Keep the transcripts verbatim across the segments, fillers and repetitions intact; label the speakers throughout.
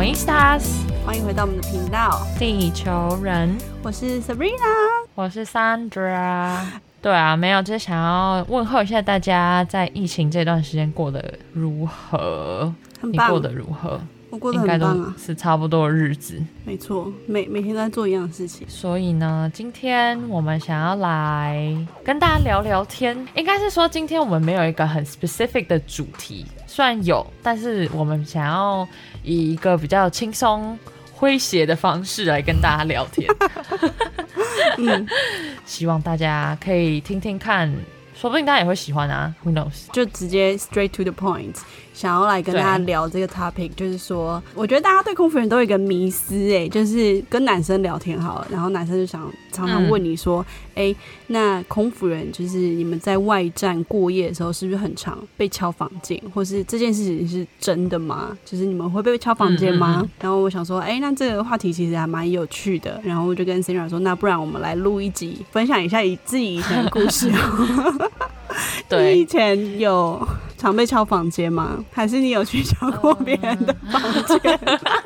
Speaker 1: 欢迎 Stars，
Speaker 2: 欢迎回到我们的频道，
Speaker 1: 地球人。
Speaker 2: 我是 Sabrina，
Speaker 1: 我是 Sandra。对啊，没有，就是想要问候一下大家，在疫情这段时间过得如何？
Speaker 2: 很棒，
Speaker 1: 你过得如何？
Speaker 2: 我过得很棒啊，
Speaker 1: 应该都是差不多的日子。
Speaker 2: 没错，每每天都在做一样的事情。
Speaker 1: 所以呢，今天我们想要来跟大家聊聊天，应该是说今天我们没有一个很 specific 的主题，虽然有，但是我们想要以一个比较轻松诙谐的方式来跟大家聊天。嗯，希望大家可以听听看，说不定大家也会喜欢啊 ，Who knows？
Speaker 2: 就直接 straight to the point， 想要来跟大家聊这个 topic， 就是说，我觉得大家对空服员都有一个迷思，哎，就是跟男生聊天好了，然后男生就想常常问你说，哎、嗯，那空服员就是你们在外站过夜的时候，是不是很常被敲房间，或是这件事情是真的吗？就是你们会被敲房间吗？嗯嗯嗯然后我想说，哎，那这个话题其实还蛮有趣的，然后我就跟 Sarah 说，那不然我们来录一集，分享一下以自己以前的故事。
Speaker 1: 对，
Speaker 2: 你以前有常被敲房间吗？还是你有去敲过别人的房间？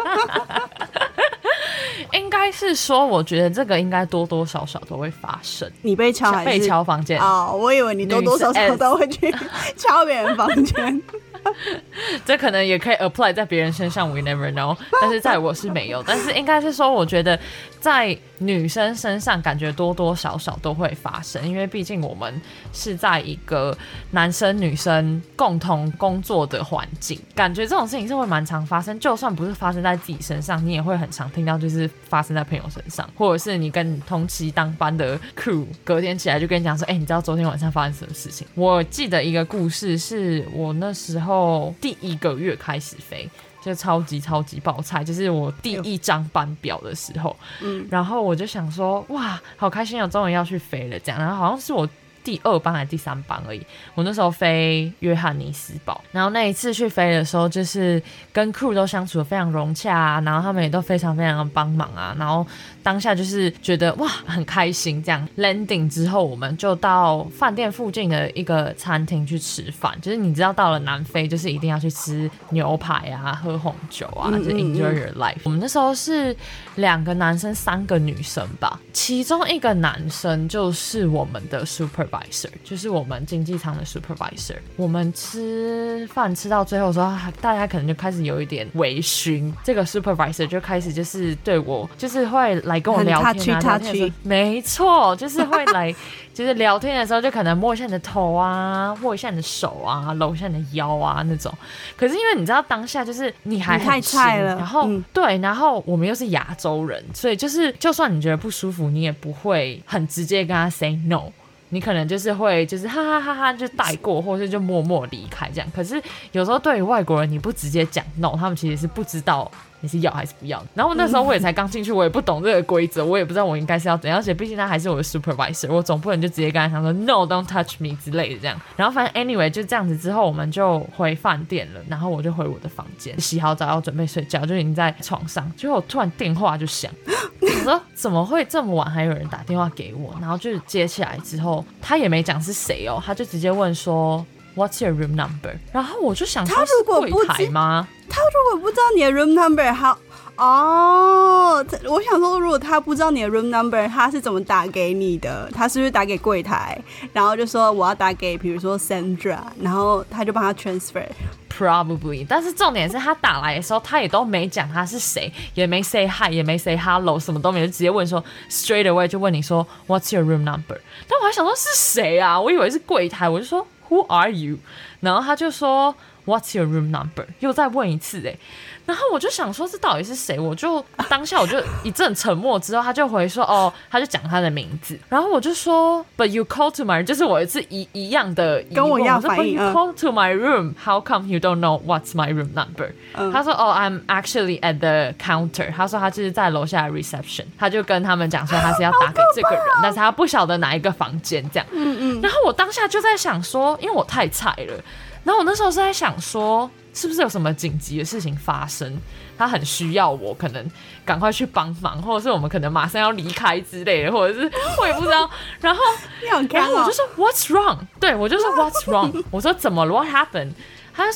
Speaker 1: 应该是说，我觉得这个应该多多少少都会发生。
Speaker 2: 你被敲还是
Speaker 1: 被敲房间？
Speaker 2: 哦，我以为你多多少少都会去敲别人房间。
Speaker 1: 这可能也可以 apply 在别人身上 ，we never know。但是在我是没有，但是应该是说，我觉得在女生身上，感觉多多少少都会发生，因为毕竟我们是在一个男生女生共同工作的环境，感觉这种事情是会蛮常发生。就算不是发生在自己身上，你也会很常听到，就是发生在朋友身上，或者是你跟你同期当班的 crew， 隔天起来就跟你讲说，哎、欸，你知道昨天晚上发生什么事情？我记得一个故事，是我那时候。第一个月开始飞，就超级超级爆菜，就是我第一张班表的时候，嗯，然后我就想说，哇，好开心哦，终于要去飞了，这样，然后好像是我第二班还是第三班而已。我那时候飞约翰尼斯堡，然后那一次去飞的时候，就是跟 crew 都相处得非常融洽啊，然后他们也都非常非常的帮忙啊，然后当下就是觉得哇很开心这样。landing 之后，我们就到饭店附近的一个餐厅去吃饭，就是你知道到了南非就是一定要去吃牛排啊，喝红酒啊，就是 enjoy your life。我们那时候是两个男生三个女生吧，其中一个男生就是我们的 supervisor， 就是我们经济舱的 supervisor。我们吃饭吃到最后的时候，大家可能就开始有一点微醺，这个 supervisor 就开始就是对我就是会来跟我聊天啊，聊天的时候没错，就是会来就是聊天的时候就可能摸一下你的头啊，握一下你的手啊，搂一下你的腰啊那种。可是因为你知道当下就是你还很
Speaker 2: 太菜了，
Speaker 1: 然后、
Speaker 2: 嗯、
Speaker 1: 对，然后我们又是亚洲人，所以就是就算你觉得不舒服，你也不会很直接跟他 say no。你可能就是会就是哈哈哈哈就带过，或是就默默离开这样。可是有时候对于外国人，你不直接讲 no， 他们其实是不知道你是要还是不要。然后那时候我也才刚进去，我也不懂这个规则，我也不知道我应该是要怎样。而且毕竟他还是我的 supervisor， 我总不能就直接跟他讲说 no don't touch me 之类的这样。然后反正 anyway 就这样子之后，我们就回饭店了，然后我就回我的房间洗好澡要准备睡觉，就已经在床上，结果突然电话就响，我说怎么会这么晚还有人打电话给我？然后就接起来之后，他也没讲是谁哦，他就直接问说 What's your room number？ 然后我就想说是柜台吗？
Speaker 2: 他如果不知道你的 room number， 好哦，我想说，如果他不知道你的 room number， 他是怎么打给你的？他是不是打给柜台，然后就说我要打给，比如说 Sandra， 然后他就帮他 transfer。Probably，
Speaker 1: 但是重点是他打来的时候，他也都没讲他是谁，也没 say hi， 也没 say hello， 什么都没，就直接问说 straight away 就问你说 What's your room number？ 但我还想说是谁啊？我以为是柜台，我就说 Who are you？ 然后他就说 What's your room number？ 又再问一次哎、欸，然后我就想说这到底是谁？我就当下我就一阵沉默之后，他就回说哦，他就讲他的名字，然后我就说 But you call to my， 就是我一次一一样的疑问，
Speaker 2: 跟我一样反应。
Speaker 1: But you call to my room， How come you don't know what's my room number？、嗯、他说哦、oh, I'm actually at the counter。他说他就是在楼下的 reception， 他就跟他们讲说他是要打给这个人，但是他不晓得哪一个房间这样。嗯嗯。然后我当下就在想说，因为我太菜了，然后我那时候是在想说。是不是有什么紧急的事情发生？他很需要我，可能赶快去帮忙，或者是我们可能马上要离开之类的，或者是我也不知道。然后，然后我就说 What's wrong？ 对我就说 What's wrong？ 我说怎么了 ？What happened？ 他就说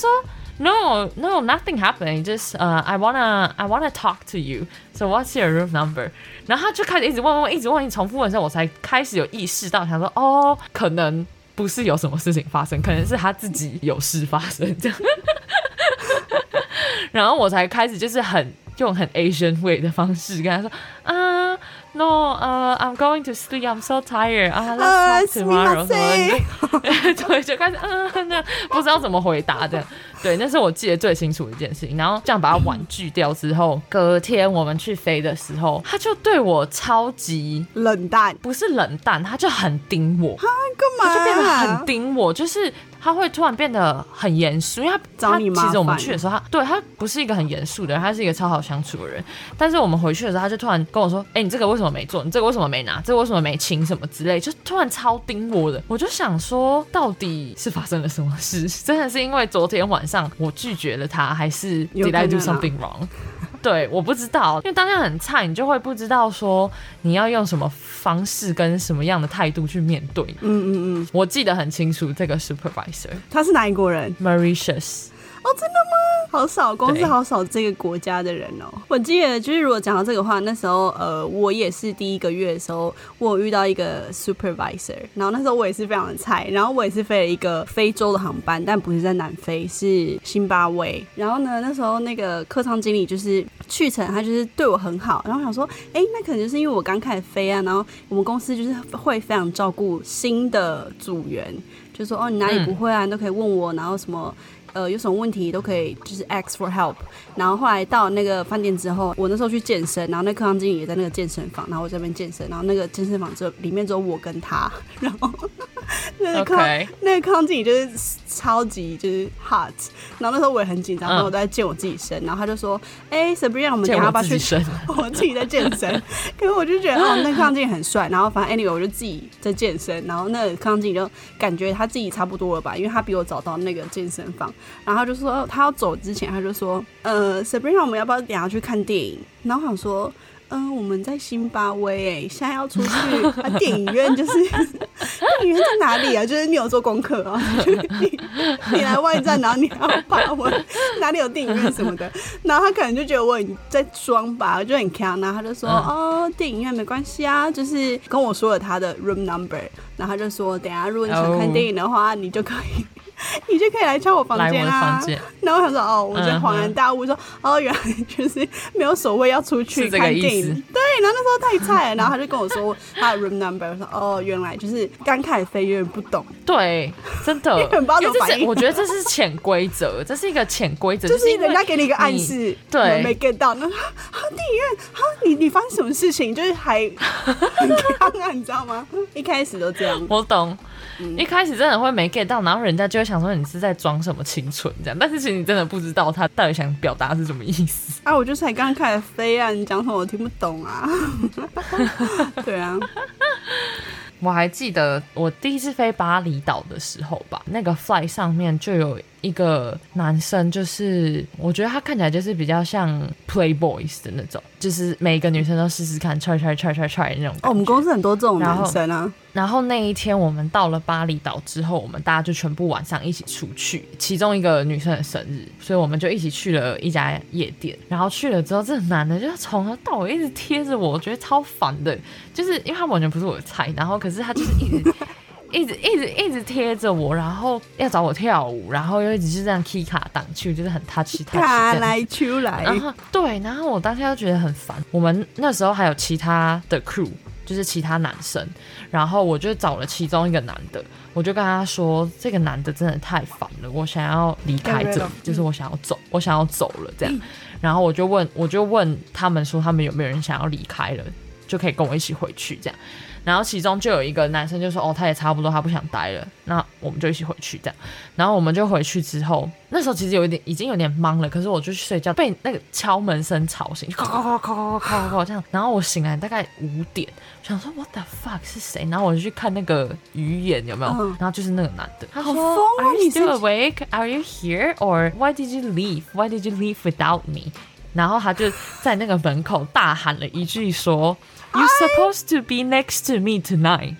Speaker 1: no no nothing happened just uh I wanna I wanna talk to you so what's your room number 然后他就开始一直问问问一直问一直重复问的时候我才开始有意识到想说哦可能不是有什么事情发生可能是他自己有事发生这样然后我才开始就是很用很 Asian way 的方式跟他说啊 no uh, I'm going to sleep I'm so tired uh, let's talk tomorrow 对就开始嗯那不知道怎么回答的对那是我记得最清楚的一件事情然后这样把它婉拒掉之后隔天我们去飞的时候他就对我超级
Speaker 2: 冷淡
Speaker 1: 不是冷淡他就很盯我
Speaker 2: 他干嘛、啊、
Speaker 1: 他就变得很盯我就是他会突然变得很严肃，因为他
Speaker 2: 找你麻烦。
Speaker 1: 其实我们去的时候，他对他不是一个很严肃的人，他是一个超好相处的人。但是我们回去的时候，他就突然跟我说：“哎、欸，你这个为什么没做？你这个为什么没拿？这个为什么没清什么之类？”就突然超盯我的。我就想说，到底是发生了什么事？真的是因为昨天晚上我拒绝了他，还是 Did I do something wrong？对，我不知道，因为当下很菜，你就会不知道说你要用什么方式跟什么样的态度去面对。嗯嗯嗯，我记得很清楚，这个 supervisor
Speaker 2: 他是哪一国人
Speaker 1: ？Mauritius。
Speaker 2: 哦，真的吗？好少，公司好少这个国家的人哦。我记得就是如果讲到这个话，那时候呃，我也是第一个月的时候，我有遇到一个 supervisor， 然后那时候我也是非常的菜，然后我也是飞了一个非洲的航班，但不是在南非，是辛巴威。然后呢，那时候那个客舱经理就是去程，他就是对我很好，然后我想说，哎，那可能就是因为我刚开始飞啊，然后我们公司就是会非常照顾新的组员，就说哦，你哪里不会啊，你都可以问我，然后什么。呃，有什么问题都可以，就是 ask for help。然后后来到那个饭店之后，我那时候去健身，然后那客舱经理也在那个健身房，然后我这边健身，然后那个健身房只有里面只有我跟他，然后那个客、okay. 那个客舱经理就是超级就是 hot。然后那时候我也很紧张，然后我都在健我自己身，然后他就说：“哎、欸、，Sabrina， 我们等一下要不要去？”我自己在健身，可是我就觉得哦，那个客舱经理很帅，然后反正 anyway 我就自己在健身，然后那个客舱经理就感觉他自己差不多了吧，因为他比我早到那个健身房。然后他就说他要走之前他就说呃 Sabrina 我们要不要等一下去看电影然后我想说嗯、呃，我们在辛巴威哎，现在要出去啊，电影院就是电影院在哪里啊？就是你有做功课啊？你你来外站，然后你要把我哪里有电影院什么的，然后他可能就觉得我很在装吧，就很强，然后他就说、嗯、哦，电影院没关系啊，就是跟我说了他的 room number， 然后他就说等一下如果你想看电影的话， oh. 你就可以。你就可以来敲我房间啊！然后我想说，哦，我就恍然大悟说，嗯、哦，原来就是没有所谓要出去看电影。对，然后那时候太菜了，然后他就跟我说他的 room number， 我说哦，原来就是刚开始飞有点不懂。
Speaker 1: 对，真的，
Speaker 2: 因为很不知道怎么反应。
Speaker 1: 我觉得这是潜规则，这是一个潜规则，
Speaker 2: 就是人家给你一个暗示，
Speaker 1: 对，
Speaker 2: 没 get 到。那啊，电影院啊，你你发生什么事情？就是还很刚啊，你知道吗？一开始都这样。
Speaker 1: 我懂。嗯、一开始真的会没 get 到，然后人家就会想说你是在装什么清纯这样，但是其实你真的不知道他到底想表达是什么意思
Speaker 2: 啊！我就才刚开始飞啊，你讲什么我听不懂啊！对啊，
Speaker 1: 我还记得我第一次飞巴厘岛的时候吧，那个 flight 上面就有一个男生，就是我觉得他看起来就是比较像 playboys 的那种，就是每个女生都试试看 try try try try try 那种。
Speaker 2: 哦，我们公司很多这种男生啊。
Speaker 1: 然后那一天我们到了巴厘岛之后，我们大家就全部晚上一起出去，其中一个女生的生日，所以我们就一起去了一家夜店。然后去了之后，这个男的就从头到尾一直贴着我，我觉得超烦的，就是因为他完全不是我的菜，然后可是他就是一直一直一直一直贴着我，然后要找我跳舞，然后又一直是这样 key 卡挡去，就是很 touch touch
Speaker 2: 卡来出来。
Speaker 1: 然后对，然后我当下就觉得很烦。我们那时候还有其他的 crew。就是其他男生，然后我就找了其中一个男的，我就跟他说这个男的真的太烦了，我想要离开这里，就是我想要走，我想要走了这样。然后我就问我就问他们说他们有没有人想要离开了，就可以跟我一起回去这样。然后其中就有一个男生就说哦他也差不多他不想待了，那我们就一起回去这样。然后我们就回去之后，那时候其实有一点已经有点懵了，可是我就去睡觉，被那个敲门声吵醒，敲敲敲敲敲敲这样。然后我醒来大概五点，想说 what the fuck 是谁？然后我就去看那个鱼眼有没有，嗯、然后就是那个男的，他说 Are you still awake? Are you here? Or why did you leave? Why did you leave without me? 然后他就在那个门口大喊了一句说 You're supposed to be next to me tonight.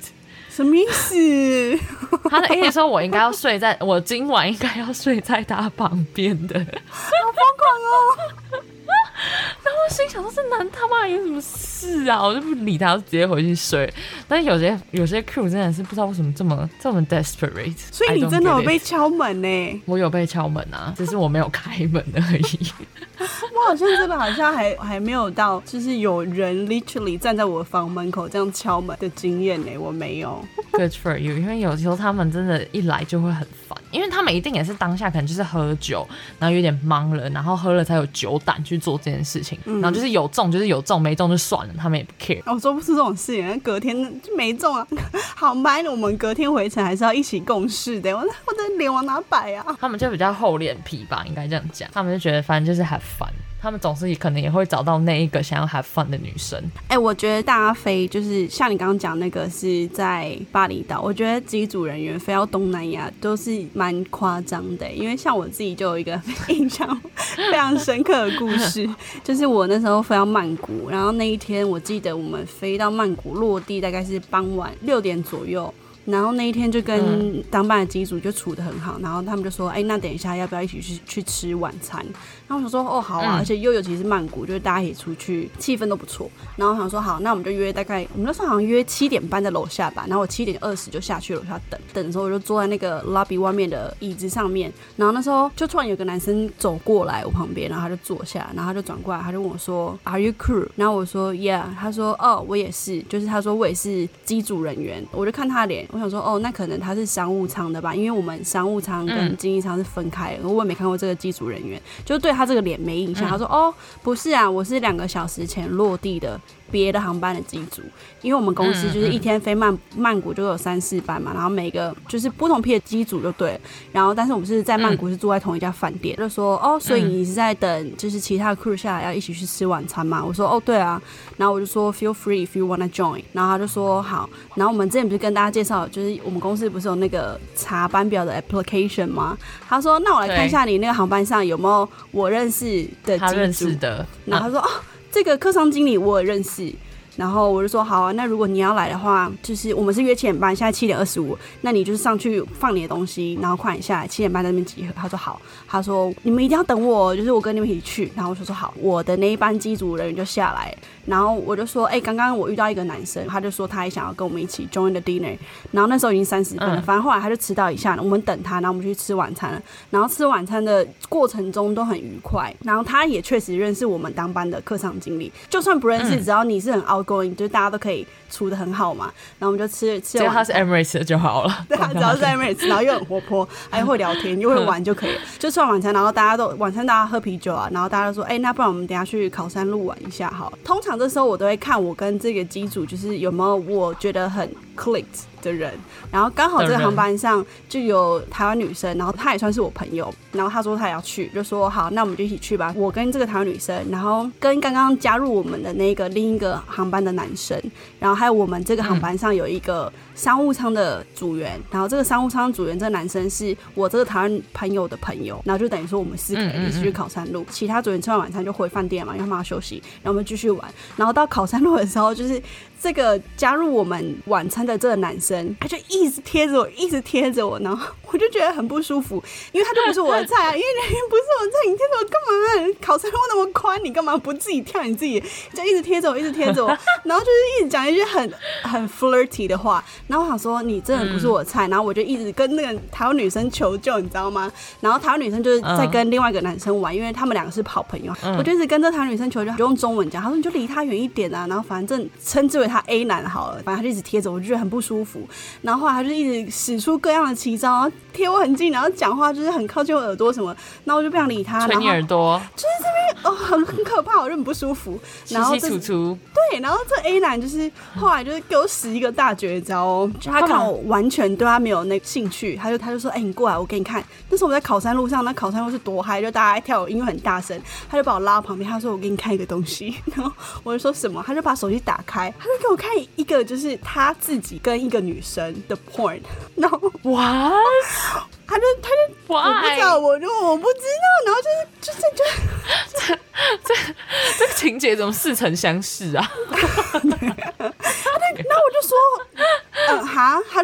Speaker 2: 什么意思？
Speaker 1: 他的意思说我应该要睡在我今晚应该要睡在他旁边的，好疯
Speaker 2: 狂哦！
Speaker 1: 然后我心想说这男他妈有什么事啊，我就不理他，我直接回去睡。但是有些有些 crew 真的是不知道为什么这么这么 desperate，
Speaker 2: 所以你真的有被敲门呢？
Speaker 1: 我有被敲门啊，只是我没有开门而已。
Speaker 2: 我好像真的好像还还没有到，就是有人 literally 站在我的房门口这样敲门的经验呢，我没有。
Speaker 1: Good for you， 因为有时候他们真的，一来就会很烦，因为他们一定也是当下可能就是喝酒，然后有点懵了，然后喝了才有酒胆去做这件事情，嗯、然后就是有中就是有中，没中就算了，他们也不 care。
Speaker 2: 我做不出这种事情，隔天就没中啊，航班我们隔天回程还是要一起共事的，我我的脸往哪摆啊？
Speaker 1: 他们就比较厚脸皮吧，应该这样讲，他们就觉得反正就是have fun。他们总是可能也会找到那一个想要 have fun 的女生。
Speaker 2: 哎、欸，我觉得大家飞就是像你刚刚讲那个是在巴厘岛，我觉得机组人员飞到东南亚都是蛮夸张的、欸。因为像我自己就有一个印象非常深刻的故事，就是我那时候飞到曼谷，然后那一天我记得我们飞到曼谷落地大概是傍晚六点左右。然后那一天就跟当班的机组就处得很好，然后他们就说，哎、欸，那等一下要不要一起去去吃晚餐？然后我想说，哦，好啊，嗯、而且又尤其是曼谷，就是大家一起出去，气氛都不错。然后我想说，好，那我们就约大概，我们那时候好像约七点半在楼下吧，然后我七点二十就下去楼下等，等的时候我就坐在那个 lobby 外面的椅子上面，然后那时候就突然有个男生走过来我旁边，然后他就坐下，然后他就转过来，他就问我说 ，Are you crew？ 然后我说 Yeah， 他说哦，我也是，就是他说我也是机组人员，我就看他的脸。我想说，哦，那可能他是商务舱的吧，因为我们商务舱跟经济舱是分开的，嗯、我也没看过这个机组人员，就对他这个脸没印象。嗯、他说，哦，不是啊，我是两个小时前落地的别的航班的机组，因为我们公司就是一天飞曼曼谷就有三四班嘛，然后每个就是不同批的机组就对了，然后但是我们是在曼谷是住在同一家饭店，就说，哦，所以你是在等就是其他的 crew 下来要一起去吃晚餐吗？我说，哦，对啊，然后我就说 feel free if you wanna join， 然后他就说好，然后我们之前不是跟大家介绍，就是我们公司不是有那个查班表的 application 吗？他说，那我来看一下你那个航班上有没有我认识的机组，
Speaker 1: 他认识的，
Speaker 2: 然后他说，哦，这个客舱经理我也认识。然后我就说好啊，那如果你要来的话，就是我们是约七点半，现在七点二十五，那你就是上去放你的东西，然后快点下来，七点半在那边集合。他说好，他说你们一定要等我，就是我跟你们一起去。然后我就说好，我的那一班机组人员就下来，然后我就说，哎、欸，刚刚我遇到一个男生，他就说他也想要跟我们一起 join the dinner， 然后那时候已经三十分了，反正后来他就迟到一下，我们等他，然后我们去吃晚餐了。然后吃晚餐的过程中都很愉快，然后他也确实认识我们当班的客舱经理，就算不认识，只要你是很 outgoing，就是大家都可以处得很好嘛。然后我们就吃吃
Speaker 1: 只要他是 Emirates 的就好了，
Speaker 2: 对，他只要是 Emirates， 然后又很活泼，还会聊天，又会玩就可以了。就吃完晚餐，然后大家都晚餐大家喝啤酒啊，然后大家都说，哎、欸，那不然我们等一下去考山路玩一下好了。通常这时候我都会看我跟这个机组就是有没有我觉得很 clicked 的人，然后刚好这个航班上就有台湾女生，然后她也算是我朋友，然后她说她也要去，就说好，那我们就一起去吧。我跟这个台湾女生，然后跟刚刚加入我们的那个另一个航班的男生，然后还有我们这个航班上有一个商务舱的组员，然后这个商务舱组员这个男生是我这个台湾朋友的朋友，然后就等于说我们四个人一起去考山路，其他组员吃完晚餐就回饭店嘛，因为他们要休息，然后我们继续玩。然后到考山路的时候，就是这个加入我们晚餐的这个男生，他就一直贴着我，一直贴着我，然后我就觉得很不舒服，因为他就不是我的菜啊，因为人不是我的菜，你贴着我干嘛？考山路那么宽，你干嘛不自己跳你自己？就一直贴着我，一直貼着我，然后就是一直讲一些很很 flirty 的话，然后我想说你真的不是我的菜，然后我就一直跟那个台湾女生求救，你知道吗？然后台湾女生就是在跟另外一个男生玩，因为他们两个是好朋友，我就一直跟这台湾女生求救，就用中文讲，他说你就离他远一点啊，然后反正称之为他 A 男好了，反正他就一直贴着我，就觉得很不舒服。然后后来他就一直使出各样的奇招，然后贴我很近，然后讲话就是很靠近我耳朵什么，然后我就不想理他，
Speaker 1: 吹你耳朵，
Speaker 2: 就是这边哦很很可怕，我就很不舒服。然后
Speaker 1: 稀稀楚楚，
Speaker 2: 对，然后这 A 男就是后来就是给我使一个大绝招哦，就他看我完全对他没有那个兴趣，他就他就说，哎、欸，你过来，我给你看。那时候我们在考山路上，那考山路是多嗨，就大家跳舞，音乐很大声，他就把我拉到旁边，他说我给你看一个东西，然后我就说什么，他就把手机打开，他就给我看一个就是他自己跟一个女生的 porn， 然后
Speaker 1: 哇，
Speaker 2: 他就他就我不知道，我就我不知道，然后就是就是就
Speaker 1: 这这这个情节怎么似曾相识啊？
Speaker 2: 对，然后我就说，呃哈，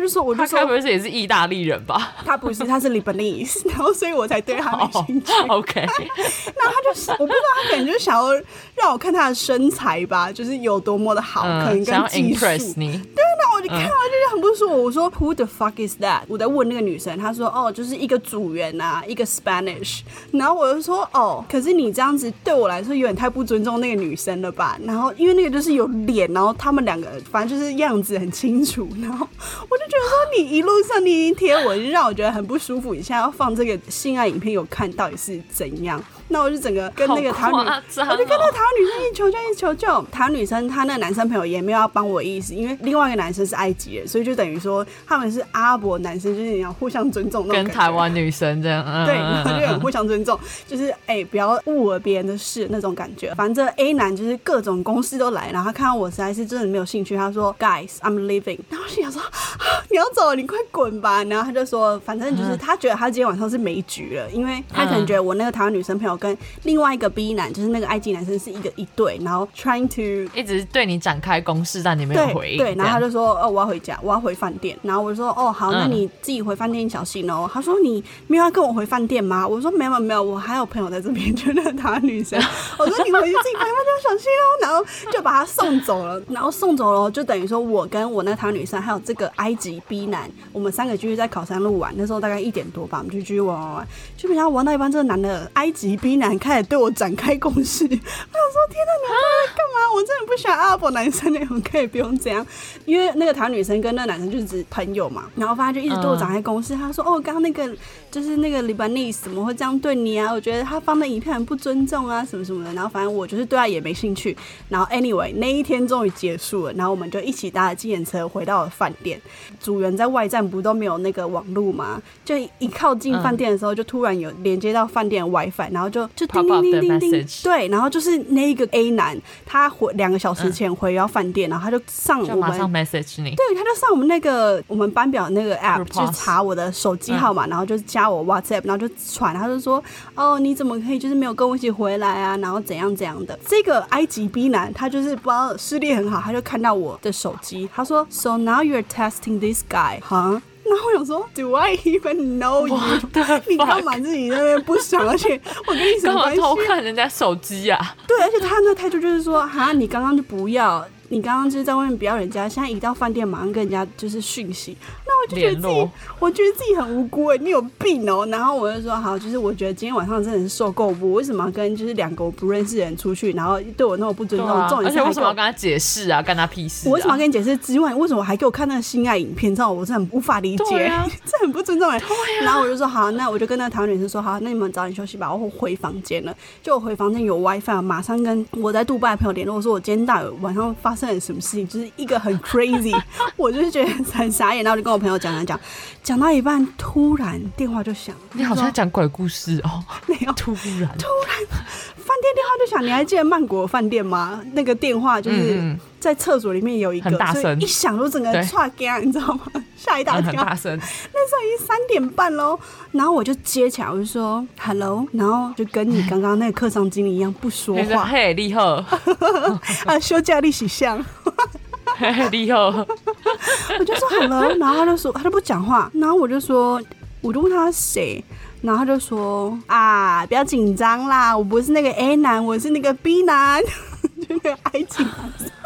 Speaker 2: 就说，我就说，
Speaker 1: 他该不会是也是意大利人吧？
Speaker 2: 他不是，他是 Lebanese， 然后所以我才对他没兴趣。
Speaker 1: Oh, OK，
Speaker 2: 然后他就我不知道他可能就想要让我看他的身材吧，就是有多么的好，嗯、可能跟技术。
Speaker 1: 你
Speaker 2: 对，那我就看到就是很不舒服。我说 Who the fuck is that？ 我在问那个女生，她说哦，就是一个组员啊，一个 Spanish。然后我就说哦，可是你这样子对我来说有点太不尊重那个女生了吧？然后因为那个就是有脸，然后他们两个反正就是样子很清楚，然后我就觉得说你一路上你已经贴我，就让我觉得很不舒服。你现在要放这个性爱影片，有看到底是怎样？那我就整个跟那个台湾女，
Speaker 1: 哦、
Speaker 2: 我就跟那个台湾女生一起求救，一起求救。台湾女生她那个男生朋友也没有要帮我的意思，因为另外一个男生是埃及人，所以就等于说他们是阿拉伯男生，就是你要互相尊重那种感觉。
Speaker 1: 跟台湾女生这样，嗯、
Speaker 2: 对，然后就很互相尊重，就是哎、欸、不要误了别人的事那种感觉。反正 A 男就是各种公司都来，然后他看到我实在是真的没有兴趣，他说 Guys I'm leaving， 然后我心想说、啊、你要走你快滚吧。然后他就说反正就是他觉得他今天晚上是没局了，因为他可能觉得我那个台湾女生朋友跟另外一个 B 男就是那个埃及男生是一个一对，然后 trying to
Speaker 1: 一直对你展开攻势，但你没有回应。
Speaker 2: 对，对，然后他就说哦我要回家，我要回饭店。然后我就说哦好，那你自己回饭店小心哦。他说你没有要跟我回饭店吗？我说没有没有，我还有朋友在这边，就那个台湾女生。我说你回去自己回饭店小心哦。然后就把他送走了，然后送走了就等于说我跟我那个台湾女生还有这个埃及 B 男，我们三个继续在考山路玩。那时候大概一点多吧，我们就继续玩玩玩，就没想到玩到一半，这个男的埃及 B 男开始对我展开攻势。我想说天哪，你们在干嘛？我真的不喜欢阿拉伯男生那种，可以不用这样。因为那个台湾女生跟那个男生就是只朋友嘛，然后反正就一直对我展开攻势。他说哦，刚刚那个就是那个 Lebanese 怎么会这样对你啊？我觉得他放的影片很不尊重啊，什么什么的。然后反正我就是对他也没兴趣。然后 anyway 那一天终于结束了，然后我们就一起搭了计程车回到了饭店。组员在外站不都没有那个网路吗？就一靠近饭店的时候，就突然有连接到饭店的 WiFi， 然后就就叮叮叮叮叮，对，然后就是那个 A 男，他回两个小时前回到饭店，然后他就上我们
Speaker 1: 就马上 message 你，
Speaker 2: 对，他就上我们那个我们班表那个 app 就查我的手机号码、嗯，然后就加我 WhatsApp， 然后就传，他就说哦你怎么可以就是没有跟我一起回来啊，然后怎样怎样的。这个埃及 B 男他就是不知道视力很好，他就看到我的手机，他说 So now you're testing this guy， huh？然后我想说 Do I even know you？ 你干嘛自己在那边不爽？而且我跟你什么关系？
Speaker 1: 干嘛偷看人家手机啊？
Speaker 2: 对，而且他那态度就是说哈，你刚刚就不要，你刚刚就是在外面不要人家，现在一到饭店马上跟人家就是讯息。那我就觉得自己，我觉得自己很无辜哎，你有病哦。然后我就说好，就是我觉得今天晚上真的是受够我为什么要跟就是两个我不认识的人出去，然后对我那么不尊重，
Speaker 1: 啊、
Speaker 2: 重点是
Speaker 1: 而且为什么要跟他解释啊？干他屁事、啊！
Speaker 2: 我为什么要跟你解释之外，为什么还给我看那个性爱影片？知道我真的很无法理解，啊、这很不尊重哎、啊。然后我就说好，那我就跟那个台湾女生说好，那你们早点休息吧，我回房间了。就我回房间有 WiFi， 马上跟我在杜拜的朋友联络，我说我今天到底晚上发生了什么事情，就是一个很 crazy， 我就是觉得很傻眼。然后我就跟我朋友讲讲讲，讲到一半突然电话就响，
Speaker 1: 你好像讲鬼故事哦。
Speaker 2: 没有，
Speaker 1: 突然突
Speaker 2: 然饭店电话就响。你还记得曼谷饭店吗？那个电话就是在厕所里面有一个，
Speaker 1: 很大声，
Speaker 2: 一响就整个唰干，你知道吗？吓一大跳，
Speaker 1: 很大声。
Speaker 2: 那时候已经三点半喽，然后我就接起来，我就说 hello， 然后就跟你刚刚那个客舱经理一样不说话。
Speaker 1: 嘿，你好，
Speaker 2: 啊，休假你是像。
Speaker 1: 嘿，你好，
Speaker 2: 我就说 hello， 然后他就说他就不讲话，然后我就说，我就问他谁，然后他就说啊，不要紧张啦，我不是那个 A 男，我是那个 B 男，就那个埃及男。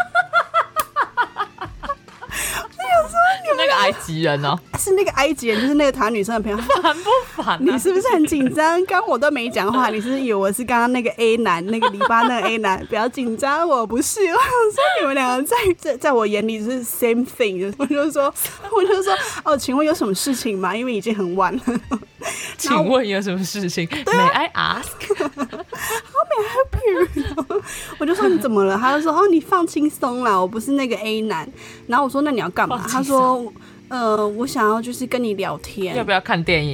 Speaker 1: 是那个埃及人哦，
Speaker 2: 是那个埃及人，就是那个台湾女生的朋友。
Speaker 1: 烦不烦、啊？
Speaker 2: 你是不是很紧张？刚我都没讲话，你是不是以为我是刚刚那个 A 男，那个黎巴嫩 A 男？不要紧张，我不是。我想说你们两个在在在我眼里是 same thing， 我就说我就说哦，请问有什么事情吗？因为已经很晚了。
Speaker 1: 请问有什么事情、啊、？May I ask？
Speaker 2: How may I help you？ 我就说你怎么了？他就说哦，你放轻松啦，我不是那个 A 男。然后我说那你要干嘛？他说呃，我想要就是跟你聊天，
Speaker 1: 要不要看电影？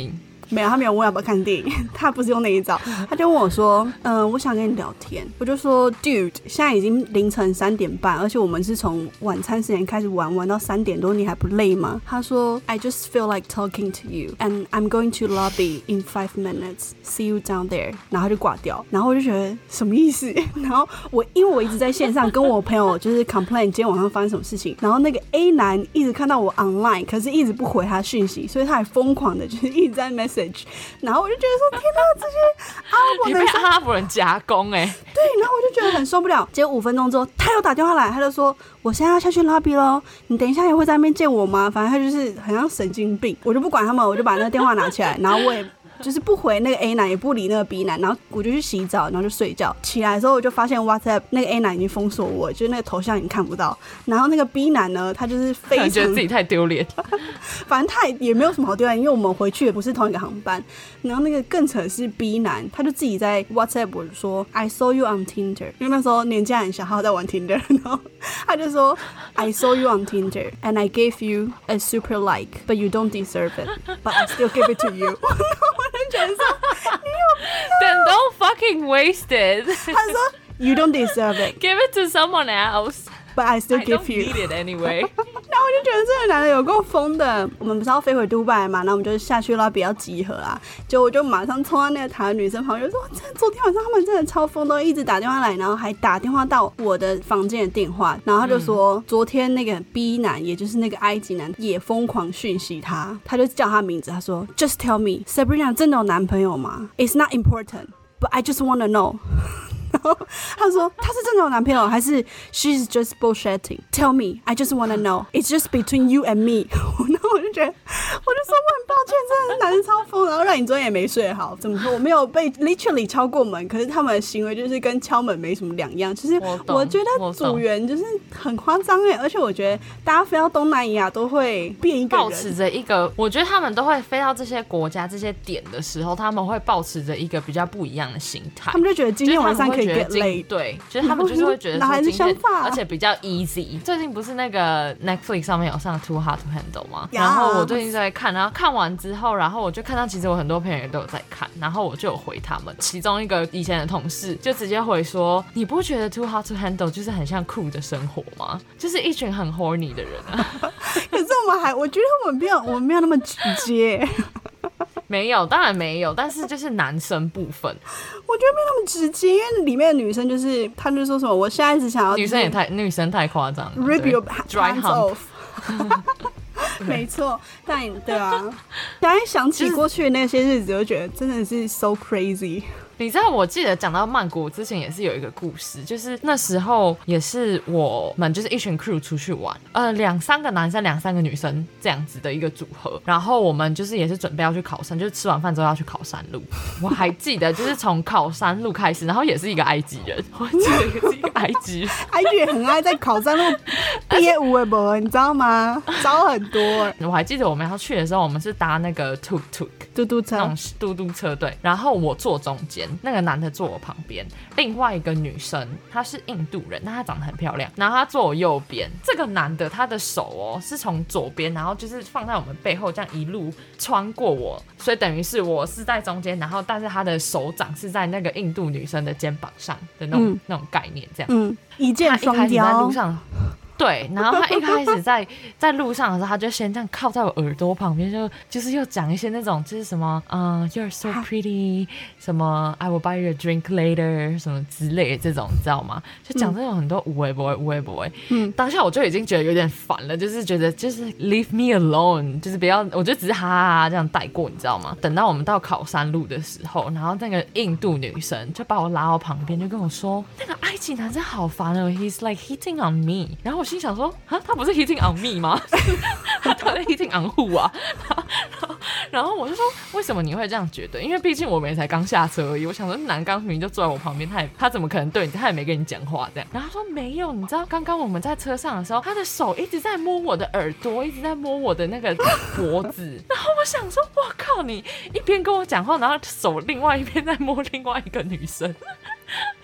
Speaker 2: 没有，他没有问要不要看电影，他不是用那一招，他就问我说，嗯、呃，我想跟你聊天。我就说 ，Dude， 现在已经凌晨三点半，而且我们是从晚餐时间开始玩，玩到三点多，你还不累吗？他说 ，I just feel like talking to you, and I'm going to lobby in five minutes. See you down there. 然后他就挂掉，然后我就觉得什么意思？然后我因为我一直在线上跟我朋友就是 complain 今天晚上发生什么事情，然后那个 A 男一直看到我 online， 可是一直不回他讯息，所以他还疯狂的就是一直在 message， 然后我就觉得说天哪，这些阿拉伯人，
Speaker 1: 你被阿拉伯人夹攻哎、欸，
Speaker 2: 对，然后我就觉得很受不了。结果五分钟之后，他又打电话来，他就说我现在要下去 lobby 咯，你等一下也会在那边见我吗？反正他就是很像神经病，我就不管他们，我就把那个电话拿起来，然后我也。就是不回那个 A 男，也不理那个 B 男，然后我就去洗澡，然后就睡觉。起来的时候我就发现 WhatsApp 那个 A 男已经封锁我，就是那个头像已经看不到。然后那个 B 男呢，他就是非常
Speaker 1: 觉得自己太丢脸，
Speaker 2: 反正他也没有什么好丢脸，因为我们回去也不是同一个航班。然后那个更扯的是 B 男，他就自己在 WhatsApp 我说 I saw you on Tinder， 因为那时候年纪很小，他在玩 Tinder， 然后他就说 I saw you on Tinder and I gave you a super like, but you don't deserve it, but I still give it to you 。我就觉得说你有病
Speaker 1: Then don't fucking waste it
Speaker 2: 他说 You don't deserve it,
Speaker 1: Give it to someone else,
Speaker 2: but I still
Speaker 1: I
Speaker 2: give
Speaker 1: don't
Speaker 2: you.
Speaker 1: need it anyway
Speaker 2: 然后我就觉得这个男的有够疯的。我们不是要飞回杜拜嘛，然后我们就下去了，比较集合啊。结果我就马上冲到那个台湾女生旁边，说：“真的，昨天晚上他们真的超疯，都一直打电话来，然后还打电话到我的房间的电话。”然后他就说，嗯、昨天那个 B 男，也就是那个埃及男，也疯狂讯息他，他就叫他名字，他说 ：“Just tell me, Sabrina 真的有男朋友吗 ？It's not important, but I just want to know.” 然后他说他是真的有男朋友还是 she's just bullshitting? Tell me, I just want to know. It's just between you and me. 然后我就觉得，我就说我很抱歉，真的是男人超疯，然后让你昨天也没睡好。怎么说？我没有被 literally 敲过门，可是他们的行为就是跟敲门没什么两样。其实我觉得组员就是很夸张哎，而且我觉得大家飞到东南亚都会变一个人，
Speaker 1: 抱持着一个，我觉得他们都会飞到这些国家这些点的时候，他们会抱持着一个比较不一样的心态。
Speaker 2: 他们就觉得今天晚上可以 get late，
Speaker 1: 对，就是他们就是会觉得说今天，
Speaker 2: 啊、
Speaker 1: 而且比较 easy。最近不是那个 Netflix 上面有上 Too Hot to Handle 吗？ Yeah. 然后我最近在看，然后看完之后，然后我就看到其实我很多朋友也都有在看，然后我就有回他们，其中一个以前的同事就直接回说：“你不觉得 Too Hot to Handle 就是很像酷的生活吗？就是一群很 horny 的人啊。”
Speaker 2: 可是我们还，我觉得我们没有，我们没有那么直接。
Speaker 1: 没有，当然没有，但是就是男生部分，
Speaker 2: 我觉得没有那么直接，因为里面的女生就是，她就说什么，我现在只想要
Speaker 1: 女生也太女生太夸张了
Speaker 2: ，rip your hands off 。没错，但对啊，现在想起过去的那些日子，我就觉得真的是 so crazy。
Speaker 1: 你知道，我记得讲到曼谷之前也是有一个故事，就是那时候也是我们就是一群 crew 出去玩，呃，两三个男生，两三个女生这样子的一个组合。然后我们就是也是准备要去考山，就是吃完饭之后要去考山路。我还记得就是从考山路开始，然后也是一个埃及人，我记得也是一个埃及人，
Speaker 2: 埃及人很爱在考山路憋无为不，你知道吗？招很多。
Speaker 1: 我还记得我们要去的时候，我们是搭那个 tuk tuk
Speaker 2: 嘟嘟车，
Speaker 1: 那种嘟嘟车，对。然后我坐中间。那个男的坐我旁边，另外一个女生她是印度人，但她长得很漂亮，然后她坐我右边。这个男的他的手哦是从左边，然后就是放在我们背后，这样一路穿过我，所以等于是我是在中间，然后但是他的手掌是在那个印度女生的肩膀上的那种、嗯、那种概念，这样，
Speaker 2: 嗯，一箭双雕。
Speaker 1: 他一开始在路上。对，然后他一开始在在路上的时候，他就先这样靠在我耳朵旁边，就就是又讲一些那种就是什么，嗯、uh, ，You're so pretty， 什么 I will buy you a drink later， 什么之类的这种，你知道吗？就讲这种很多无为不为无为不为。嗯，当下我就已经觉得有点烦了，就是觉得就是 leave me alone， 就是不要，我就只是哈哈哈这样带过，你知道吗？等到我们到考山路的时候，然后那个印度女生就把我拉到旁边，就跟我说，那个埃及男生好烦哦 ，He's like hitting on me， 然后我心想说，啊，他不是 hitting on me 吗？他在 hitting on who 啊？然后我就说，为什么你会这样觉得？因为毕竟我们也才刚下车而已。我想说，男刚明明就坐在我旁边，他也他怎么可能对你？他也没跟你讲话这样。然后他说没有，你知道刚刚我们在车上的时候，他的手一直在摸我的耳朵，一直在摸我的那个脖子。然后我想说，我靠，你一边跟我讲话，然后手另外一边在摸另外一个女生。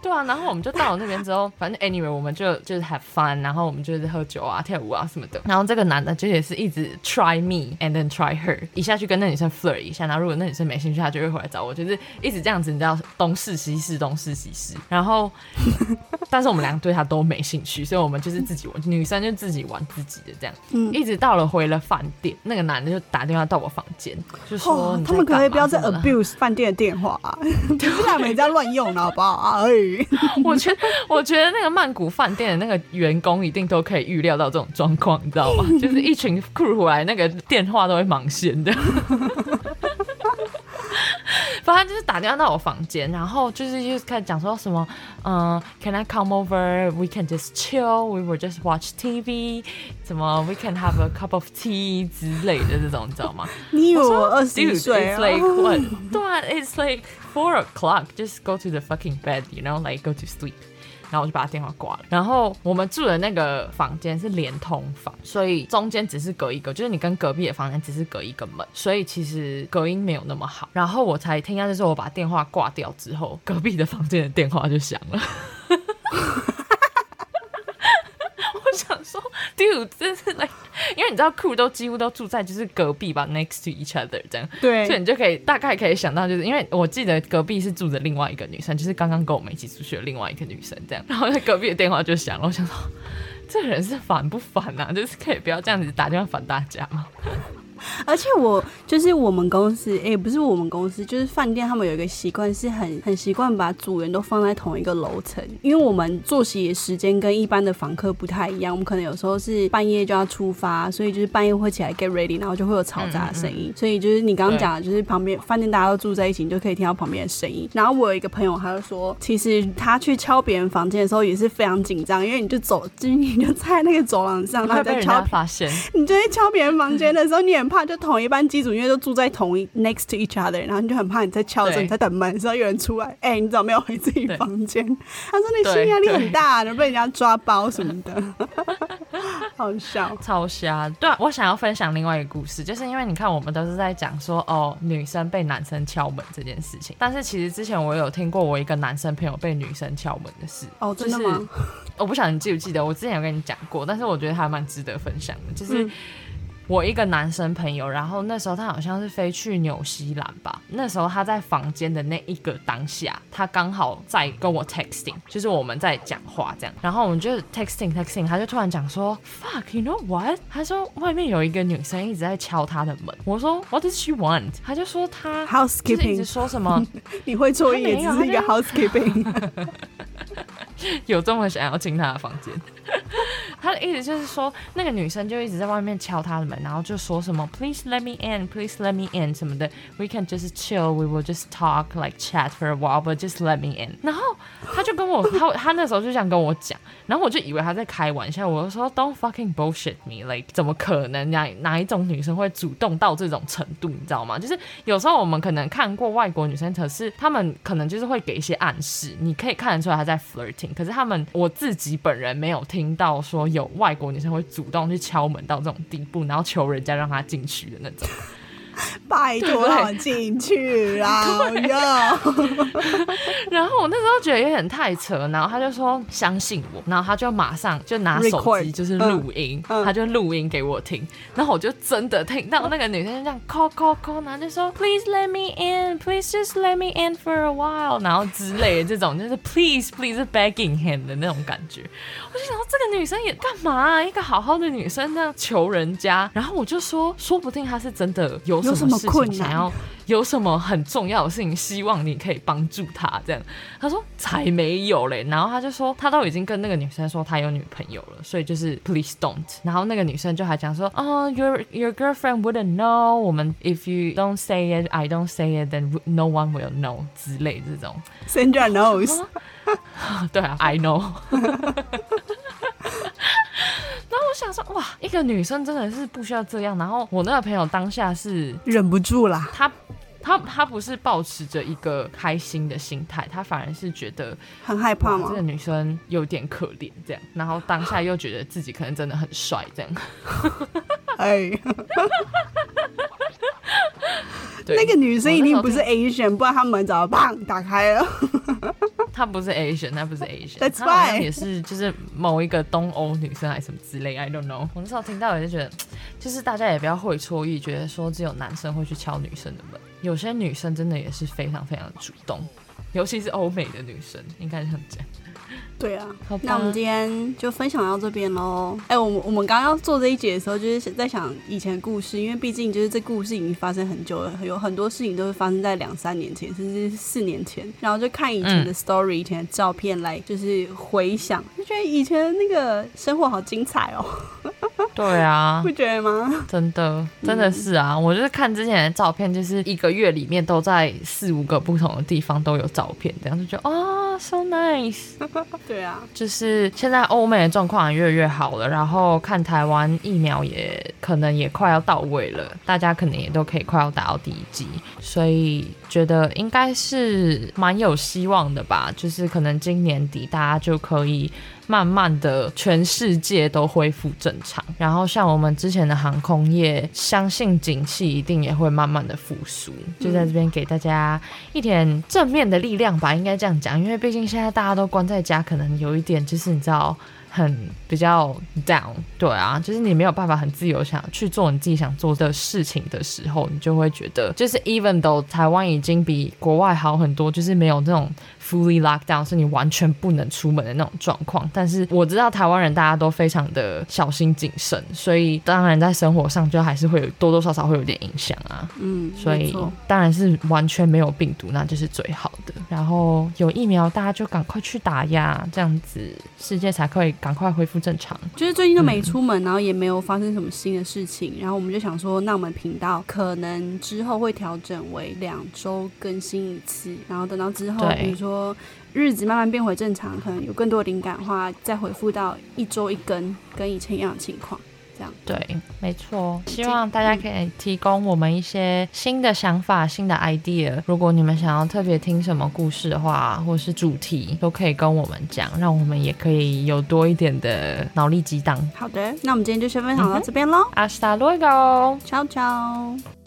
Speaker 1: 对啊，然后我们就到了那边之后，反正 anyway 我们就就是 have fun， 然后我们就是喝酒啊、跳舞啊什么的。然后这个男的就也是一直 try me and then try her， 一下去跟那女生 flirt 一下，然后如果那女生没兴趣，他就会回来找我，就是一直这样子，你知道东试西试，东试西试。然后，但是我们两个对他都没兴趣，所以我们就是自己玩，女生就自己玩自己的这样。嗯，一直到了回了饭店，那个男的就打电话到我房间，就说、哦、
Speaker 2: 他们可不可以不要再 abuse 饭店的电话啊？不是他们也在乱用了，好不好？哎。
Speaker 1: 我觉得，我觉得那个曼谷饭店的那个员工一定都可以预料到这种状况，你知道吗？就是一群 crew 回来，那个电话都会忙线的。反正就是打电话到我房间，然后就是就开始讲说什么，嗯、呃、，Can I come over? We can just chill. We will just watch T V. 什么 We can have a cup of tea 之类的这种，你知道吗？
Speaker 2: 你以为我二十一岁啊
Speaker 1: ？Dude, it's like what? 对啊 ，It's like four o'clock. Just go to the fucking bed, you know, like go to sleep. 然后我就把他电话挂了。然后我们住的那个房间是连通房，所以中间只是隔一个，就是你跟隔壁的房间只是隔一个门，所以其实隔音没有那么好。然后我才听到就是我把电话挂掉之后，隔壁的房间的电话就响了。我想说 ，dude， 真是 like， 因为你知道 crew 都几乎都住在就是隔壁吧 ，next to each other 这样，
Speaker 2: 对，
Speaker 1: 所以你就可以大概可以想到，就是因为我记得隔壁是住着另外一个女生，就是刚刚跟我们一起出去的另外一个女生这样，然后在隔壁的电话就响了，我想说，这个人是烦不烦啊？就是可以不要这样子打电话烦大家吗？
Speaker 2: 而且我就是我们公司，哎、欸，不是我们公司，就是饭店，他们有一个习惯，是很很习惯把组员都放在同一个楼层，因为我们作息的时间跟一般的房客不太一样，我们可能有时候是半夜就要出发，所以就是半夜会起来 get ready， 然后就会有嘈杂的声音、嗯嗯，所以就是你刚刚讲的，就是旁边饭店大家都住在一起，你就可以听到旁边的声音。然后我有一个朋友，他就说，其实他去敲别人房间的时候也是非常紧张，因为你就走，就是你就在那个走廊上，然后在敲，
Speaker 1: 发现
Speaker 2: 你就在敲别人房间的时候，你很怕就同一班机组因为都住在同一 next to each other， 然后你就很怕你在敲的时候，你在等门的时候有人出来，哎、欸，你怎么没有回自己房间？他说你心理压力很大，能被人家抓包什么的，好笑，
Speaker 1: 超瞎。对啊，我想要分享另外一个故事，就是因为你看我们都是在讲说哦女生被男生敲门这件事情，但是其实之前我有听过我一个男生朋友被女生敲门的事。哦，真的吗？就是、我不晓得你记不记得，我之前有跟你讲过，但是我觉得还蛮值得分享的，就是。嗯，我一个男生朋友，然后那时候他好像是飞去纽西兰吧，那时候他在房间的那一个当下，他刚好在跟我 texting， 就是我们在讲话这样，然后我们就 texting texting， 他就突然讲说 fuck you know what， 他说外面有一个女生一直在敲他的门，我说 what does she want， 他就说他
Speaker 2: housekeeping，
Speaker 1: 就是一直说什么
Speaker 2: 你会错意也只是一个 housekeeping。
Speaker 1: 有这么想要进他的房间？他的意思就是说，那个女生就一直在外面敲他的门，然后就说什么 "Please let me in, please let me in" 什么的 ，We can just chill, we will just talk like chat for a while, but just let me in。然后他就跟我，他他那时候就这样跟我讲，然后我就以为他在开玩笑，我就说 "Don't fucking bullshit me, like 怎么可能哪哪一种女生会主动到这种程度，你知道吗？就是有时候我们可能看过外国女生，可是他们可能就是会给一些暗示，你可以看得出来她在 flirting， 可是他们我自己本人没有听到说有外国女生会主动去敲门到这种地步，然后求人家让她进去的那种。
Speaker 2: 拜托让我进去啦！
Speaker 1: 然后我那时候觉得有点太扯，然后他就说相信我，然后他就马上就拿手机就是录音，嗯嗯、他就录音给我听，然后我就真的听到那个女生就这样 call call call， 然后就说 Please let me in, please just let me in for a while， 然后之类的这种就是 Please please begging him 的那种感觉。我就想说这个女生也干嘛、啊？一个好好的女生这样求人家，然后我就说说不定她是真的有什么事情想要，有什么很重要的事情希望你可以帮助他这样。他说才没有嘞，然后他就说他都已经跟那个女生说他有女朋友了，所以就是 please don't。然后那个女生就还讲说哦、oh, your your girlfriend wouldn't know， 我们 if you don't say it I don't say it then no one will know 之类这种。
Speaker 2: Sandra knows
Speaker 1: 对啊 I know 然后我想说哇一个女生真的是不需要这样，然后我那个朋友当下是
Speaker 2: 忍不住啦，
Speaker 1: 他他他不是抱持着一个开心的心态，他反而是觉得
Speaker 2: 很害怕吗？
Speaker 1: 这个女生有点可怜这样，然后当下又觉得自己可能真的很帅这样
Speaker 2: 哎那个女生一定不是 Asian， 不然他门早就砰打开了
Speaker 1: 她不是 Asian， 她不是 Asian，
Speaker 2: That's
Speaker 1: 她好像
Speaker 2: why
Speaker 1: 也是就是某一个东欧女生还是什么之类 ，I don't know。我那时候听到也就觉得，就是大家也不要会错意，觉得说只有男生会去敲女生的门，有些女生真的也是非常非常的主动，尤其是欧美的女生，应该是这样讲。
Speaker 2: 对啊，那我们今天就分享到这边喽。哎、欸，我们我们刚刚要做这一节的时候，就是在想以前的故事，因为毕竟就是这故事已经发生很久了，有很多事情都是发生在两三年前，甚至是四年前。然后就看以前的 story、嗯、以前的照片来，就是回想，就觉得以前那个生活好精彩哦。
Speaker 1: 对啊，
Speaker 2: 不觉得吗？
Speaker 1: 真的，真的是啊！嗯、我就是看之前的照片，就是一个月里面都在四五个不同的地方都有照片，这样就觉得啊、哦、，so nice。
Speaker 2: 对啊，
Speaker 1: 就是现在欧美的状况也越来越好了，然后看台湾疫苗也可能也快要到位了，大家可能也都可以快要打到第一剂，所以觉得应该是蛮有希望的吧。就是可能今年底大家就可以慢慢的全世界都恢复正常，然后像我们之前的航空业，相信景气一定也会慢慢的复苏，就在这边给大家一点正面的力量吧，应该这样讲，因为毕竟现在大家都关在家，可能有一点就是你知道很比较 down， 对啊，就是你没有办法很自由想去做你自己想做的事情的时候，你就会觉得就是 even though 台湾已经比国外好很多，就是没有这种 fully lockdown 是你完全不能出门的那种状况，但是我知道台湾人大家都非常的小心谨慎，所以当然在生活上就还是会有多多少少会有点影响啊，嗯，所以当然是完全没有病毒那就是最好的，然后有疫苗大家就赶快去打呀，这样子世界才可以赶快恢复正常。
Speaker 2: 就是最近都没出门、嗯、然后也没有发生什么新的事情，然后我们就想说那我们频道可能之后会调整为两周更新一次，然后等到之后比如说日子慢慢变回正常，可能有更多的灵感的话再回复到一周一更，跟以前一样的情况。
Speaker 1: 对，没错，希望大家可以提供我们一些新的想法、新的 idea。如果你们想要特别听什么故事的话，或是主题，都可以跟我们讲，让我们也可以有多一点的脑力激荡。
Speaker 2: 好的，那我们今天就先分享到这边咯。
Speaker 1: Hasta luego，
Speaker 2: ciao ciao。